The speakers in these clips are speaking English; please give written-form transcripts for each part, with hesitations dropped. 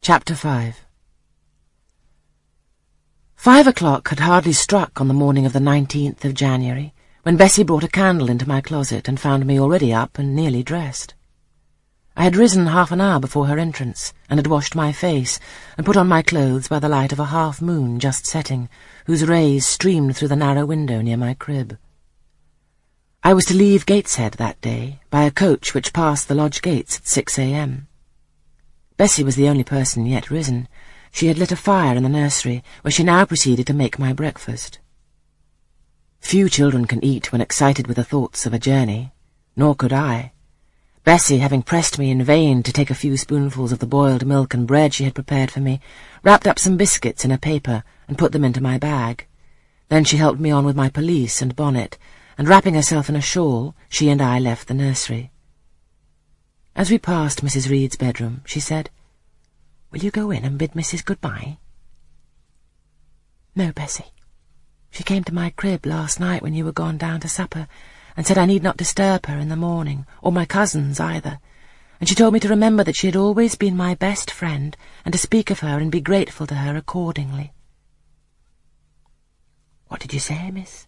Chapter 5. 5 o'clock had hardly struck on the morning of the 19th of January when Bessie brought a candle into my closet and found me already up and nearly dressed. I had risen half an hour before her entrance and had washed my face and put on my clothes by the light of a half-moon just setting, whose rays streamed through the narrow window near my crib. I was to leave Gateshead that day by a coach which passed the lodge gates at 6 a.m. Bessie was the only person yet risen. She had lit a fire in the nursery, where she now proceeded to make my breakfast. Few children can eat when excited with the thoughts of a journey, nor could I. Bessie, having pressed me in vain to take a few spoonfuls of the boiled milk and bread she had prepared for me, wrapped up some biscuits in a paper and put them into my bag. Then she helped me on with my pelisse and bonnet, and wrapping herself in a shawl, she and I left the nursery. As we passed Mrs. Reed's bedroom, she said, "Will you go in and bid Mrs. good-bye?" "No, Bessie. She came to my crib last night when you were gone down to supper, and said I need not disturb her in the morning, or my cousins either, and she told me to remember that she had always been my best friend, and to speak of her and be grateful to her accordingly." "What did you say, miss?"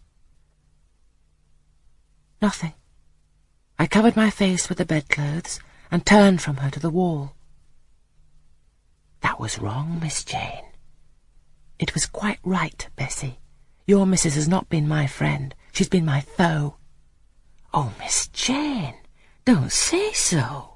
"Nothing. I covered my face with the bedclothes and turned from her to the wall." "That was wrong, Miss Jane." "It was quite right, Bessie. Your missus has not been my friend. She's been my foe." "Oh, Miss Jane, don't say so."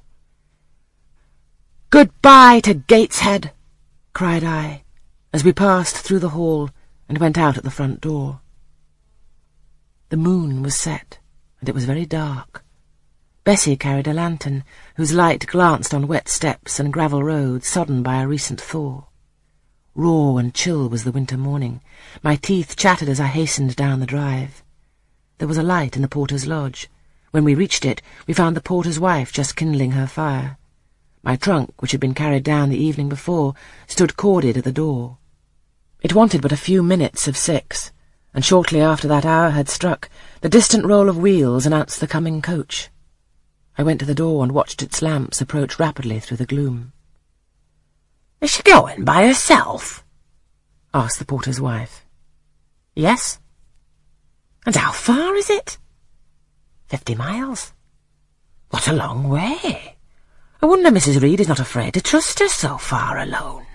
"Goodbye to Gateshead," cried I, as we passed through the hall and went out at the front door. The moon was set, and it was very dark. Bessie carried a lantern, whose light glanced on wet steps and gravel roads sodden by a recent thaw. Raw and chill was the winter morning. My teeth chattered as I hastened down the drive. There was a light in the porter's lodge. When we reached it, we found the porter's wife just kindling her fire. My trunk, which had been carried down the evening before, stood corded at the door. It wanted but a few minutes of 6, and shortly after that hour had struck, the distant roll of wheels announced the coming coach. I went to the door and watched its lamps approach rapidly through the gloom. "Is she going by herself?" asked the porter's wife. "Yes." "And how far is it?" 50 miles. "What a long way. I wonder Mrs. Reed is not afraid to trust her so far alone."